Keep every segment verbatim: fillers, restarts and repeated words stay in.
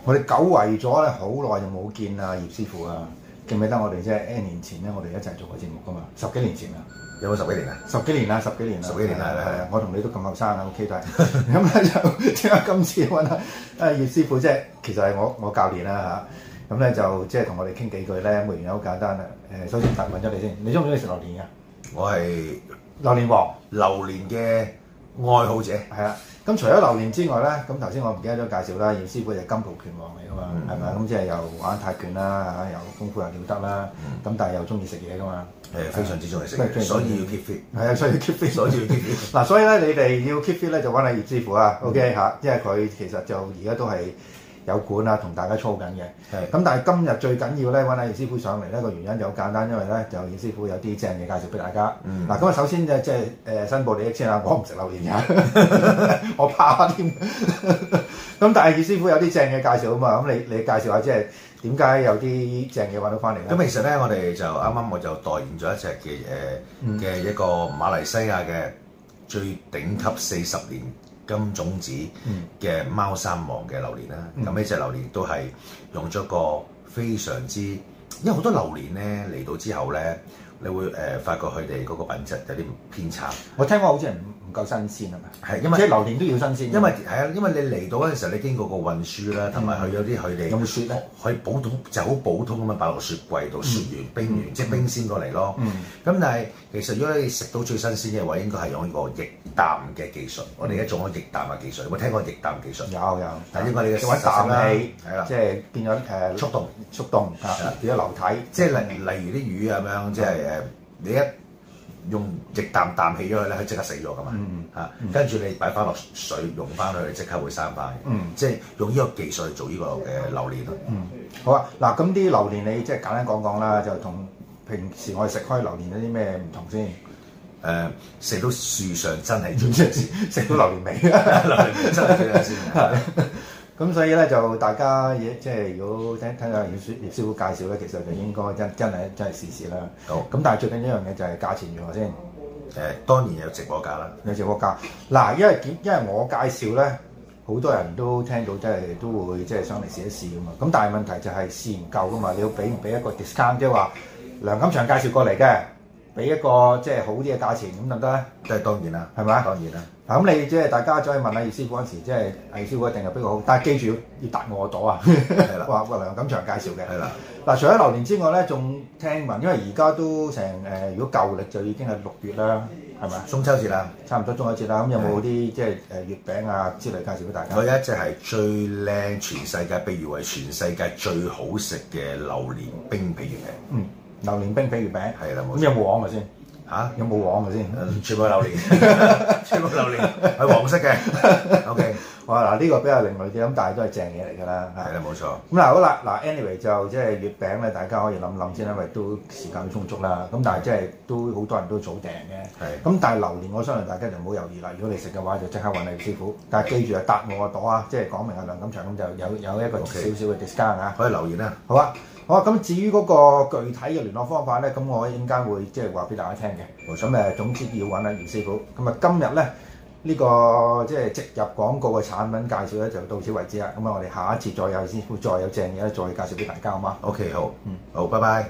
我哋久違咗咧，好耐就冇見啊葉師傅啊！記唔記得我哋即係 N 年前咧，我哋一齊做過節目噶嘛？十幾年前啊， 有冇十幾年啊？ 十幾年啦，十幾年啦， 十幾年啦，係啊！ 我同你都咁後生啊 ，OK 都係。咁咧就點解今次揾啊啊葉師傅即係其實係我我教練啦嚇。咁咧就即係同我哋傾幾句咧，咁原因好簡單啊。誒，首先問問咗你先，你中唔中意食榴蓮㗎？ 我係榴蓮王， 榴蓮嘅愛好者。 係啊。咁除咗榴蓮之外咧，咁頭先我唔記得咗介紹啦，葉師傅就係金蒲拳王嚟噶嘛，係咪啊？咁即係又玩泰拳啦，嚇，又功夫又了得啦，咁、嗯、但係又中意食嘢噶嘛， 誒非常之中意食嘢，所以要 keep fit。 係啊，所以要 keep fit， 所以要 keep fit。嗱， 所以咧你哋要 keep fit 咧就揾下葉師傅啊 ，OK 嚇，因為佢其實就而家都係有管啊，同大家操緊嘅。係。咁但係今日最緊要咧揾下葉師傅上嚟咧個原因就好簡單，因為咧就葉師傅有啲正嘢介紹俾大家。嗯。嗱，咁啊首先就即係誒申報利益先啦，我唔食榴蓮㗎，我怕添。咁但係葉師傅有啲正嘢介紹啊嘛，咁你你介紹下即係點解有啲正嘢揾到翻嚟咧？ 咁其實咧，我哋就啱啱我就代言咗一隻嘅誒嘅一個馬來西亞嘅最頂級四十年金種子嘅貓山王嘅榴蓮啦。咁呢、嗯、隻榴蓮都係用咗個非常之，因為好多榴蓮咧嚟到之後咧，你會誒、呃、發覺佢哋嗰個品質有啲偏差。我聽講好似係唔唔夠新鮮係咪？係，因為即係榴蓮都要新鮮。因為係啊，因為你嚟到嗰陣時候，你經過個運輸啦，同埋佢有啲佢哋有冇雪咧？可以普通就好普通咁樣擺落雪櫃度，雪完冰完，即係冰鮮過嚟咯。咁但係其實如果你食到最新鮮嘅話，應該係用呢個液氮嘅技術。我哋而家做緊液氮嘅技術，有冇聽過液氮技術？有有。但係應該你嘅揾氮氣係啦，即係變咗誒速凍速凍啊，變咗流體。即係例例如啲魚咁樣，即係誒你一用液氮氮氣咗佢咧，佢即刻死咗噶嘛嚇，跟住你擺翻落水溶翻佢，即刻會生翻。嗯，即係用呢個技術去做呢個嘅榴蓮咯。嗯，好啊，嗱咁啲榴蓮你即係簡單講講啦，就同平時我哋食開榴蓮有啲咩唔同先？誒，食到樹上真係最新鮮，食到榴蓮味，榴蓮味真係最新鮮。咁所以咧就大家嘢即係如果聽聽下葉師葉師傅介紹咧，其實就應該真真係真係試試啦。好，咁但係最緊要一樣嘢就係價錢如何先？誒、呃，當然有直播價啦，有直播價。嗱，因為點？因為我介紹咧，好多人都聽到，即係都會即係上嚟試一試噶嘛。咁但係問題就係試唔夠噶嘛，你要俾唔俾一個 discount，即係話梁錦祥介紹過嚟嘅，俾一個即係好啲嘅價錢咁得唔得咧？即係當然啦，係咪啊？當然啦。嗱咁你即係大家再問下葉師傅嗰陣時，即係葉師傅一定係比較好，但係記住要要答我個朵啊！係啦，話話梁錦祥介紹嘅。係啦。嗱，除咗榴蓮之外咧，仲聽聞，因為而家都成誒、呃，如果舊歷就已經係六月啦，係咪啊？中秋節啦，差唔多中秋節啦。咁有冇啲即係誒月餅啊之類介紹俾大家？我有一隻係最靚全世界，被譽為全世界最好食嘅榴蓮冰皮月餅。嗯，榴蓮冰皮月餅係啦，冇錯。咁有冇黃嘅先？嚇、啊、有冇黃嘅先？全部係榴蓮，全部榴蓮係黃色嘅。OK， 哇嗱呢個比較另類啲，咁但係都係正嘢嚟㗎啦。係啦，冇錯。咁嗱好啦，嗱 anyway 就即係月餅咧，大家可以諗諗先，因為都時間充足啦。咁但係即係都好多人都早訂嘅。係。咁但係榴蓮，我相信大家就唔好猶豫啦。如果你食嘅話，就即刻揾你師傅。但係記住啊，答我個朵啊，即係講明阿梁錦祥咁就有有一個少少嘅 discount 啊。可以留言啊。好啊。好啊，咁至於嗰個具體嘅聯絡方法咧，咁我陣間會即係話俾大家聽嘅。咁誒，總之要揾阿葉師傅。咁啊，今日咧呢個即係植入廣告嘅產品介紹咧，就到此為止啦。咁啊，我哋下一次再有師傅再有正嘢咧，再介紹俾大家，好嗎 ？OK， 好，嗯，好，拜拜。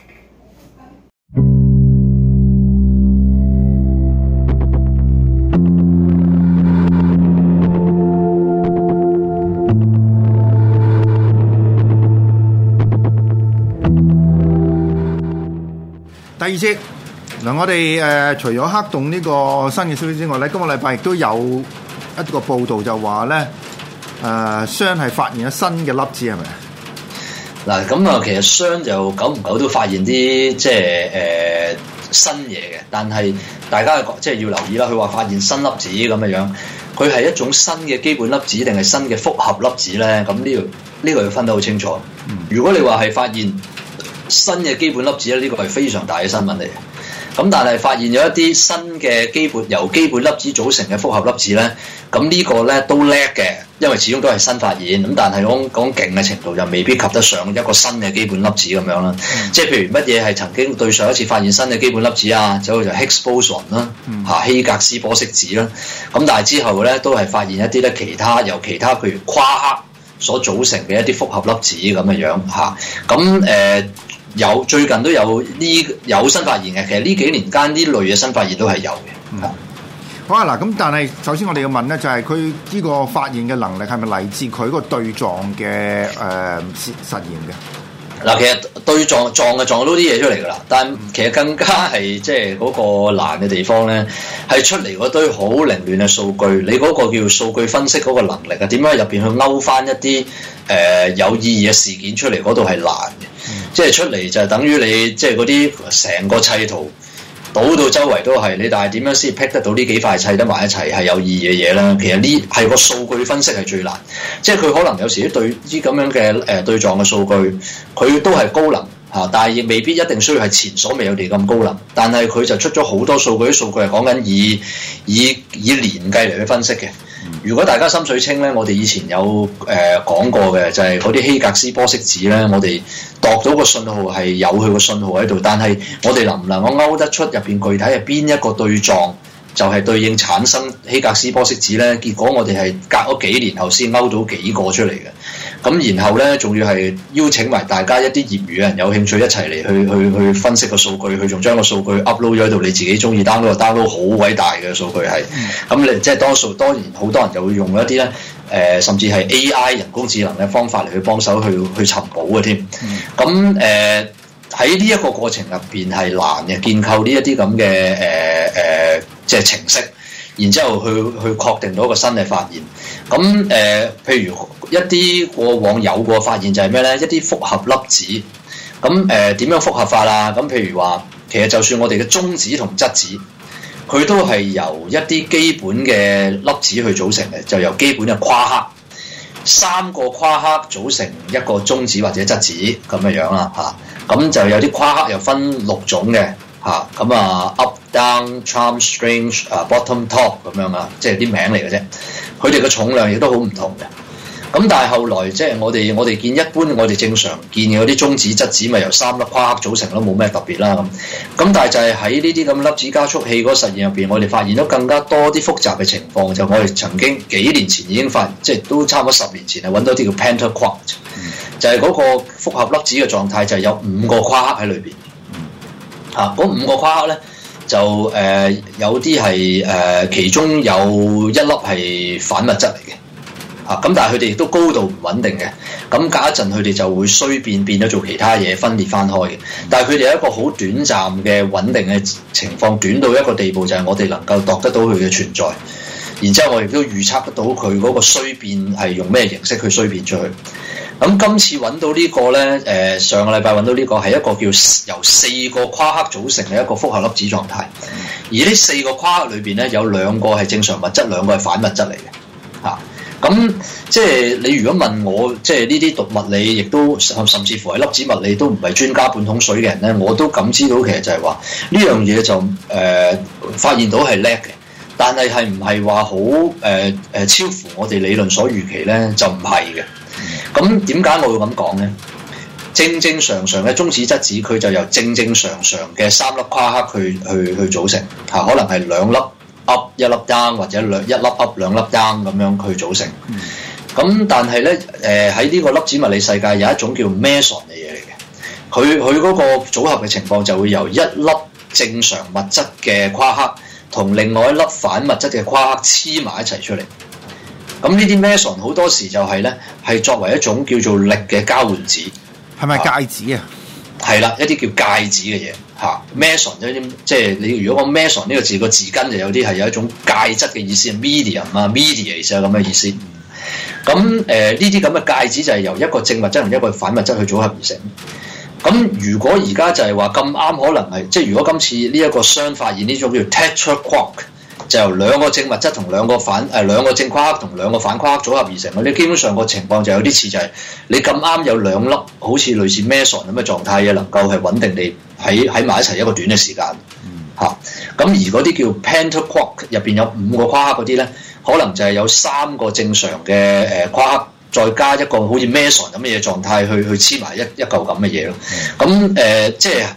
第二節嗱，我哋誒、呃、除咗黑洞呢個新嘅消息之外咧，今個禮拜亦都有一個報道就話咧誒，雙係發現咗新嘅粒子係咪？ 嗱，咁啊，其實雙就久唔久都發現啲即係誒、呃、新嘢嘅，但係大家即係要留意啦。佢話發現新粒子咁嘅樣，佢係一種新嘅基本粒子定係新嘅複合粒子咧？咁呢個呢個要分得好清楚。如果你話係發現新嘅基本粒子咧，呢個係非常大嘅新聞嚟嘅。咁但係發現咗一啲新嘅基本由基本粒子組成嘅複合粒子咧，咁呢個咧都叻嘅，因為始終都係新發現。咁但係講講勁嘅程度就未必及得上一個新嘅基本粒子咁樣啦。嗯、即係譬如乜嘢係曾經對上一次發現新嘅基本粒子啊，就好似 Higgs boson 啦，嚇希格斯玻色子啦。咁但係之後咧都係發現一啲咧其他由其他譬如夸克所組成嘅一啲複合粒子咁嘅樣嚇。咁誒、呃、有最近都有呢有新發現嘅，其實呢幾年間呢類嘅新發現都係有嘅。 嗯好啊嗱，咁但係首先我哋要問咧，就係佢呢個發現嘅能力係咪嚟自佢個對撞嘅誒實實驗嘅？ 嗱，其實對撞撞就撞到啲嘢出嚟㗎啦，但其實更加係即係嗰個難嘅地方咧，係出嚟嗰堆好凌亂嘅數據，你嗰個叫數據分析嗰個能力啊，點樣入邊去勾翻一啲誒、呃、有意義嘅事件出嚟，嗰度係難嘅，嗯、即係出嚟就係等於你即係嗰啲成個砌圖。倒到周圍都係你，但係點樣先 pick 得到呢幾塊砌得埋一齊係有意義嘅嘢咧？其實呢係個數據分析係最難，即係佢可能有時啲對啲咁樣嘅誒對撞嘅數據，佢都係高能嚇，但係亦未必一定需要係前所未有地咁高能。但係佢就出咗好多數據，啲數據係講緊以以以年計嚟去分析嘅。如果大家心水清咧，我哋以前有誒、呃、講過嘅，就係嗰啲希格斯玻色子咧，我哋度到個信號係有佢個信號喺度，但係我哋能唔能夠勾得出入邊具體係邊一個對撞，就係對應產生希格斯玻色子咧？結果我哋係隔咗幾年後先勾到幾個出嚟嘅。咁然後咧，仲要係邀請埋大家一啲業餘嘅人有興趣一齊嚟去去去分析個數據，佢仲將個數據 upload 咗喺度，你自己中意 download 就 download，好偉大嘅數據係。咁你即係多數當然好多人就會用一啲咧誒，甚至係 A I 人工智能嘅方法嚟去幫手去去尋寶嘅添。咁誒喺呢一個過程入邊係難嘅，建構呢一啲咁嘅誒誒即係程式。然之後去去確定到一個新嘅發現，咁誒、呃，譬如一啲過往有過發現就係咩咧？一啲複合粒子，咁誒點樣複合法啊？咁譬如話，其實就算我哋嘅中子同質子，佢都係由一啲基本嘅粒子去組成嘅，就由基本嘅夸克，三個夸克組成一個中子或者質子咁嘅樣啦嚇，咁、啊、就有啲夸克又分六種嘅。嚇咁啊 up down charm strange 啊 bottom top 咁樣啊，即係啲名嚟嘅啫。佢哋嘅重量亦都好唔同嘅。咁但係後來即係我哋我哋見一般我哋正常見嘅嗰啲中子質子咪由三粒夸克組成咯，冇咩特別啦咁。咁但係就係喺呢啲咁粒子加速器嗰個實驗入邊，我哋發現咗更加多啲複雜嘅情況。就我哋曾經幾年前已經發現，即係都差唔多十年前係揾到啲叫 pentaquark，就係嗰個複合粒子嘅狀態，就係有五個夸克喺裏邊。啊！嗰五個夸克咧，就誒、呃、有啲係誒其中有一粒係反物質嚟嘅，啊咁但係佢哋亦都高度唔穩定嘅，咁隔一陣佢哋就會衰變變咗做其他嘢分裂翻開嘅，但係佢哋有一個好短暫嘅穩定嘅情況，短到一個地步就係我哋能夠度得到佢嘅存在，然之後我亦都預測得到佢嗰個衰變係用咩形式去衰變出去。咁今次揾到呢個咧，誒、呃、上個禮拜揾到呢個係一個叫由四個夸克組成嘅一個複合粒子狀態，而呢四個夸克裏邊咧有兩個係正常物質，兩個係反物質嚟嘅，嚇、啊。咁即係你如果問我，即係呢啲讀物理，亦都甚至乎係粒子物理都唔係專家半桶水嘅人咧，我都感知到其實就係話呢樣嘢就誒、呃、發現到係叻嘅，但係係唔係話好誒誒超乎我哋理論所預期咧？就唔係嘅。咁點解我會咁講咧？正正常常嘅中子質子，佢就由正正常常嘅三粒夸克去去去組成嚇，可能係兩粒 up 一粒 down 或者兩一粒 up 兩粒 down 咁樣去組成。咁、嗯、但係咧，誒喺呢個粒子物理世界有一種叫 meson 嘅嘢嚟嘅，佢佢嗰個組合嘅情況就會由一粒正常物質嘅夸克同另外一粒反物質嘅夸克黐埋一齊出嚟。咁呢啲 meson 好多時就係咧，係作為一種叫做力嘅交換子， 係咪介子啊？ 係啦，一啲叫介子嘅嘢嚇。meson 一啲即係你如果講 meson 呢個字個字根就有啲係有一種介質嘅意思 ，medium 啊 ，mediate 啊咁嘅意思。咁誒呢啲咁嘅介子就係由一個正物質同一個反物質去組合而成。咁如果而家就係話咁啱，可能係即係如果今次呢一個雙發現呢種叫 tetraquark。就由兩個正物質同兩個反誒、呃、兩個正夸克同兩個反夸克組合而成。你基本上個情況就有啲似就係你咁啱有兩粒好似類似 meson 咁嘅狀態嘅，能夠係穩定地喺喺埋一齊一個短嘅時間嚇。咁、嗯啊、而嗰啲叫 pentaquark 入邊有五個夸克嗰啲咧，可能就係有三個正常嘅誒夸克，再加一個好似 meson 咁嘅嘢狀態去去黐埋一一嚿咁嘅嘢咯。咁誒、呃、即係。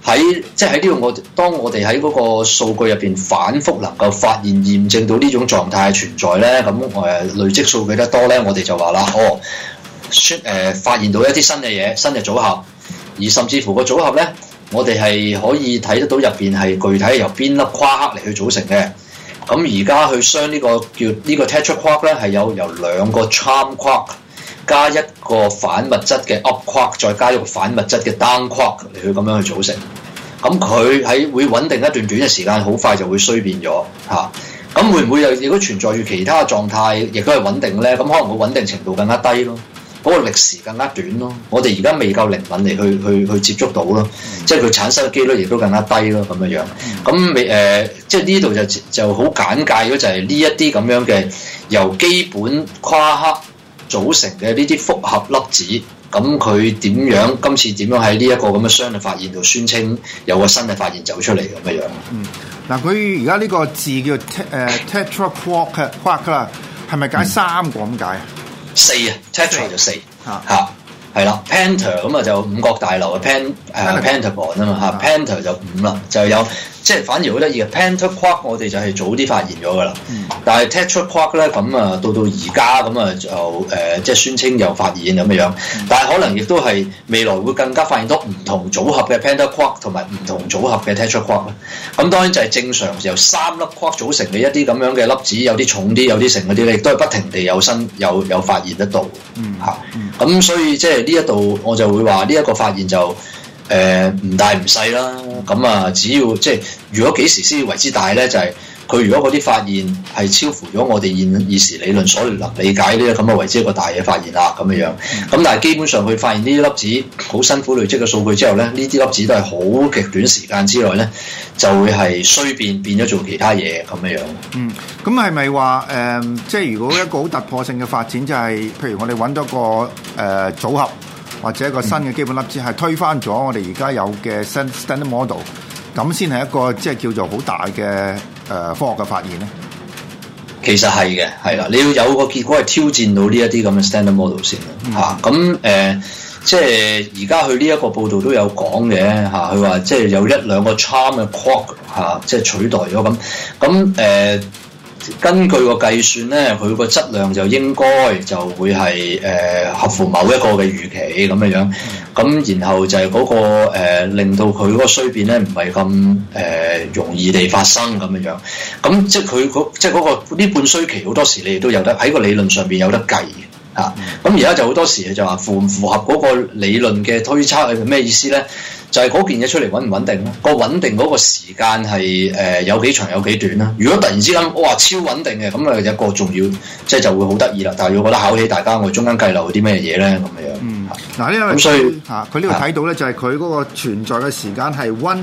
喺即係喺呢度我當我哋喺嗰個數據入邊反覆能夠發現驗證到呢種狀態嘅存在咧，咁誒累積數據得多咧，我哋就話啦，哦，誒、呃、發現到一啲新嘅嘢、新嘅組合，而甚至乎個組合咧，我哋係可以睇得到入邊係具體由邊粒夸克嚟去組成嘅。咁而家去將呢個叫呢個 tetra quark 咧，係有由兩個 charm quark 加一個反物質嘅 up quark， 再加一個反物質嘅 down quark 嚟去咁樣去組成。咁佢喺會穩定一段短嘅時間，好快就會衰變咗嚇。咁、啊、會唔會又如果存在住其他狀態，亦都係穩定咧？咁可能個穩定程度更加低咯，嗰、那個歷時更加短咯。我哋而家未夠靈敏嚟去去去接觸到咯，即係佢產生嘅機率亦都更加低咯，咁樣樣。咁未誒，即係呢度就就好簡介咗，就係呢一啲咁樣嘅由基本夸克組成嘅呢啲複合粒子。咁佢點樣？今次點樣喺呢一個咁嘅雙嘅發現度宣稱有個新嘅發現走出嚟咁嘅樣？ 嗯，嗱，佢而家呢個字叫誒 tetra quark quark 啦，係咪解三個咁解啊？ 四啊 ，tetra 就四嚇嚇，係啦 ，penta 咁啊就五角大樓嘅 pen 誒 pentagon 啊嘛嚇 ，penta 就五啦，就有即係反而好得意嘅 penta quark 我哋就係早啲發現咗噶啦，嗯、但係 tetra quark 咧咁啊到到而家咁啊就誒、呃、即係宣稱又發現咁嘅樣，嗯、但係可能亦都係未來會更加發現到唔同組合嘅 penta quark 同埋唔同組合嘅 tetra quark 啦。咁當然就係正常由三粒 quark 組成嘅一啲咁樣嘅粒子，有啲重啲，有啲成嗰啲咧，亦都係不停地有新有有發現得到嚇。咁、嗯嗯、所以即係呢一度我就會話呢一個發現就。誒唔、呃、大唔細啦，咁啊只要即係如果幾時先為之大咧，就係、是、佢如果嗰啲發現係超乎咗我哋現現時理論所能理解呢，咁啊為之一個大嘅發現啦咁樣樣。咁但係基本上佢發現呢啲粒子好辛苦累積嘅數據之後咧，呢啲粒子都係好極短時間之內咧就會係衰變變咗做其他嘢咁樣樣。 嗯，咁係咪話誒，即係如果一個好突破性嘅發展，就係、是、譬如我哋揾到個誒、呃、組合？或者一個新嘅基本粒子係推翻咗我哋而家有嘅 standard model， 咁先係一個即係叫做好大嘅誒、呃、科學嘅發現咧。 其實係嘅，係啦，你要有個結果係挑戰到呢一啲咁嘅 standard model 先啦嚇。咁誒、嗯啊呃，即係而家佢呢一個報道都有講嘅嚇，佢、啊、話即係有一兩個 charm 嘅 quark 嚇、啊，即係取代咗咁咁誒。根據個計算咧，佢個質量就應該就會係誒、呃、合乎某一個嘅預期咁樣樣，咁然後就係嗰、那個、呃、令到佢嗰個衰變咧唔係咁誒容易地發生咁樣樣，咁即係佢嗰即係嗰個呢半衰期好多時你哋都有得喺個理論上邊有得計嘅嚇，咁而家就好多時就話符唔符合嗰個理論嘅推測係咩意思咧？就係嗰件嘢出嚟穩唔穩定咯？個穩定嗰個時間係誒有幾長有幾短啦？如果突然之間哇超穩定嘅，咁啊有一個重要即係就會好得意啦。但係如果覺得考起大家，我中間計漏啲咩嘢咧咁樣？ 嗯，嗱呢個咁所以嚇佢呢度睇到咧，就係佢嗰個存在嘅時間係 one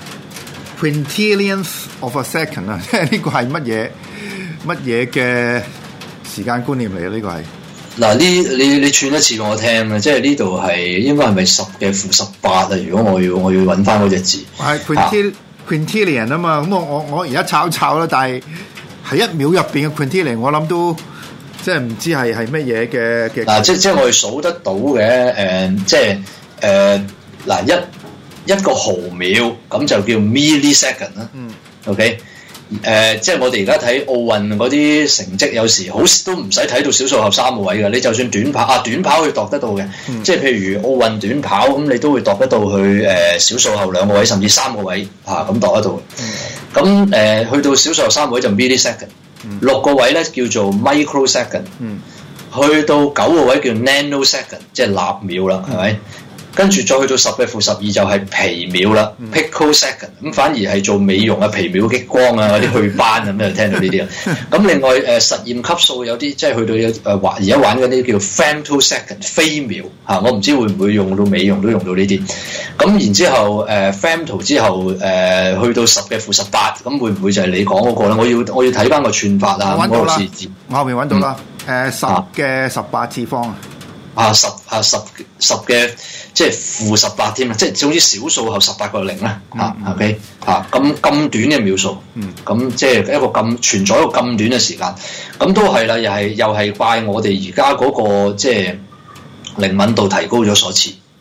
quintillionth of a second 啊！即係呢個係乜嘢乜嘢嘅時間觀念嚟嘅？呢個係。 嗱，呢你你串一次俾我聽啊！即係呢度係應該係咪十嘅負十八啊？如果我要我要揾翻嗰隻字， 係 quintillion quintillion 啊嘛。咁我我我而家炒炒啦，但係係一秒入邊嘅 quintillion，我諗都即係唔知係係乜嘢嘅嘅。 嗱，即即係我哋數得到嘅誒、呃，即係誒嗱一一個毫秒咁就叫 millisecond 啦。嗯 ，OK。誒、呃，即係我哋而家睇奧運嗰啲成績，有時好都唔使睇到小數後三個位嘅。你就算短跑啊，短跑可以度得到嘅。嗯、即係譬如奧運短跑咁，你都會度得到去誒、呃、小數後兩個位，甚至三個位嚇咁度得到。咁誒、嗯呃、去到小數後三個位就 millisecond，六、嗯、個位咧叫做 microsecond，、嗯、去到九個位叫 nanosecond，即係納秒啦，係咪、嗯？跟住再去到十嘅負十二就係皮秒啦 picosecond， 咁反而係做美容啊、皮秒激光啊嗰啲祛斑咁就聽到呢啲啦。咁另外誒、呃、實驗級數有啲即係去到有誒玩而家玩嗰啲叫 femtosecond 飛秒嚇，我唔知會唔會用到美容都用到呢啲。咁然之後誒 femto 之後誒、呃、去到十嘅負十八，咁會唔會就係你講嗰個咧？我要我要睇翻個串法啊， 嗰個字字我後面揾到啦。誒十嘅十八次方啊。 啊十啊十十嘅即係負十八添啊！即係總之小數後十八個零啦嚇，OK 嚇咁咁短嘅秒數，咁即係一個咁存在一個咁短嘅時間，咁都係啦，又係又係怪我哋而家嗰個即係靈敏度提高咗所賜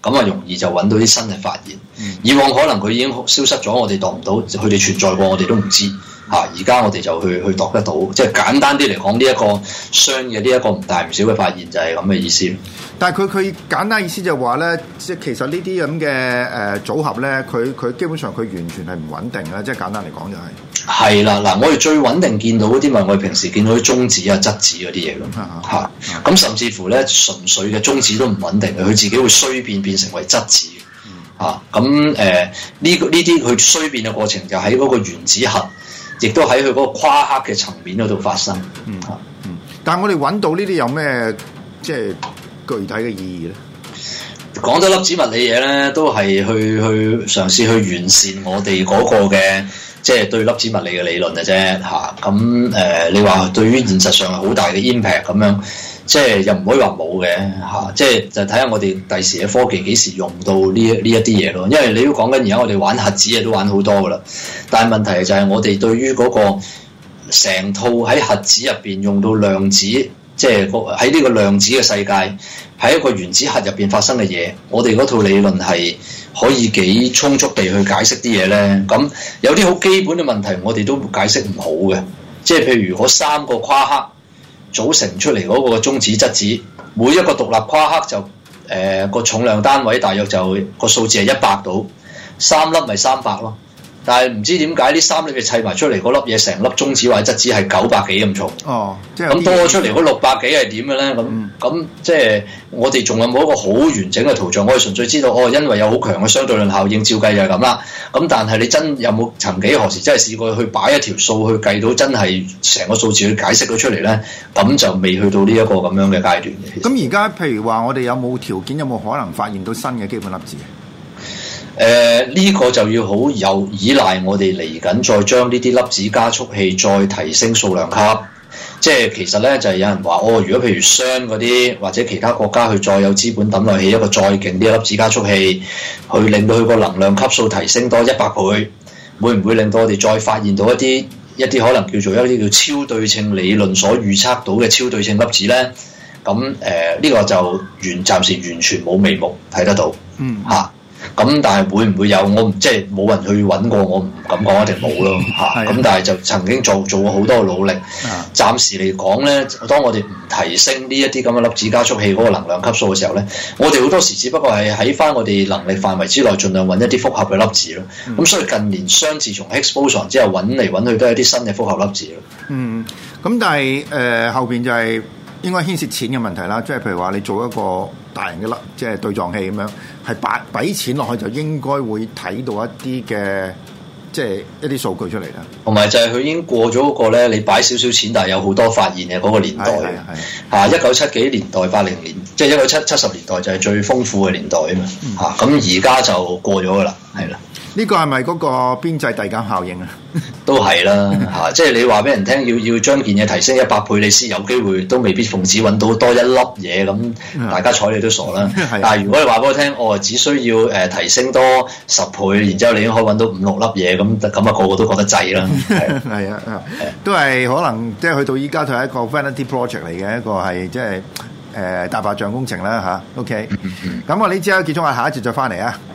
咁啊容易就揾到啲新嘅發現。嗯、以往可能佢已經消失咗，我哋度唔到，佢哋存在過，我哋都唔知嚇。而家我哋就去去度得到，即係簡單啲嚟講，呢、這、一個雙嘅呢一個唔大唔小嘅發現就係咁嘅意思。 但係佢佢簡單意思就話咧，即係其實呢啲咁嘅誒組合咧，佢佢基本上佢完全係唔穩定啦。即係簡單嚟講就係、是。係啦，嗱，我哋最穩定見到嗰啲咪我哋平時見到啲中子啊、質子嗰啲嘢咯，嚇。咁甚至乎咧，純粹嘅中子都唔穩定嘅，佢自己會衰變變成為質子。嚇、嗯，咁誒呢個呢啲佢衰變嘅過程就喺嗰個原子核，亦都喺佢嗰個夸克嘅層面嗰度發生。 嗯嗯。但係我哋揾到呢啲有咩即係具體嘅意義咧？ 講得粒子物理嘢咧，都係去去嘗試去完善我哋嗰個嘅即係對粒子物理嘅理論嘅啫嚇。咁誒、呃，你話對於現實上係好大嘅 impact 咁樣，即係又唔可以話冇嘅嚇。即係就睇下我哋第時嘅科技幾時用到呢呢一啲嘢咯。因為你都講緊而家我哋玩核子嘢都玩好多噶啦，但係問題就係我哋對於嗰個成套喺核子入邊用到量子，即係喺呢個量子嘅世界。喺一個原子核入邊發生嘅嘢，我哋嗰套理論係可以幾充足地去解釋啲嘢咧。咁有啲好基本嘅問題，我哋都解釋唔好嘅。即係譬如嗰三個夸克組成出嚟嗰個中子質子，每一個獨立夸克就誒個、呃、重量單位大約就個數字係一百度，三粒咪三百咯。但係唔知點解呢三粒嘅砌埋出嚟嗰粒嘢，成粒中子或者質子係九百幾咁重。哦，即係咁多出嚟嗰六百幾係點嘅咧？咁咁、嗯、即係我哋仲有冇一個好完整嘅圖像？我哋純粹知道哦，因為有好強嘅相對論效應，照計就係咁啦。咁但係你真有冇曾幾何時真係試過去擺一條數去計到真係成個數字去解釋到出嚟咧？咁就未去到呢一個咁樣嘅階段嘅。 咁而家譬如話，我哋有冇條件，有冇可能發現到新嘅基本粒子？ 誒呢、呃這個就要好有依賴我哋嚟緊再將呢啲粒子加速器再提升數量級，即係其實咧就係、是、有人話哦，如果譬如雙嗰啲或者其他國家去再有資本抌落去一個再勁啲嘅粒子加速器，去令到佢個能量級數提升多一百倍，會唔會令到我哋再發現到一啲一啲可能叫做一啲叫超對稱理論所預測到嘅超對稱粒子咧？咁誒呢個就完暫時完全冇眉目睇得到，嗯嚇。咁但係會唔會有？我唔即係冇人去揾過，我唔敢講一定冇咯嚇。咁但係就曾經做做過好多努力。暫時嚟講咧，當我哋唔提升呢一啲咁嘅粒子加速器嗰個能量級數嘅時候咧，我哋好多時只不過係喺翻我哋能力範圍之內，盡量揾一啲複合嘅粒子咯。咁、嗯、所以近年雙自從 Higgs boson 之後揾嚟揾去都係一啲新嘅複合粒子咯。嗯，咁但係誒、呃、後邊就係應該牽涉錢嘅問題啦。即係譬如話你做一個大型嘅粒，即係對撞器咁樣，係擺俾錢落去就應該會睇到一啲嘅，即係一啲數據出嚟啦。同埋就係佢已經過咗嗰個咧，你擺少少錢，但係有好多發現嘅嗰個年代。係啊，一九七幾年代、八零年，即係一九七七十年代就係最豐富嘅年代啊嘛。嚇，咁而家就過咗噶啦，係啦。呢個係咪嗰個邊際遞減效應啊？都係啦，嚇！即係你話俾人聽，要要將件嘢提升一百倍，你先有機會，都未必奉旨揾到多一粒嘢咁，大家睬你都傻啦。但係如果你話俾我聽，我、哦、只需要誒、呃、提升多十倍，然之後你已經可以揾到五六粒嘢，咁咁啊個個都覺得滯啦。係啊，都係可能即係去到依家，佢係一個 vanity project 嚟嘅，一個係即係誒大白象工程啦嚇。OK，咁我呢節結束下，下一節再翻嚟啊。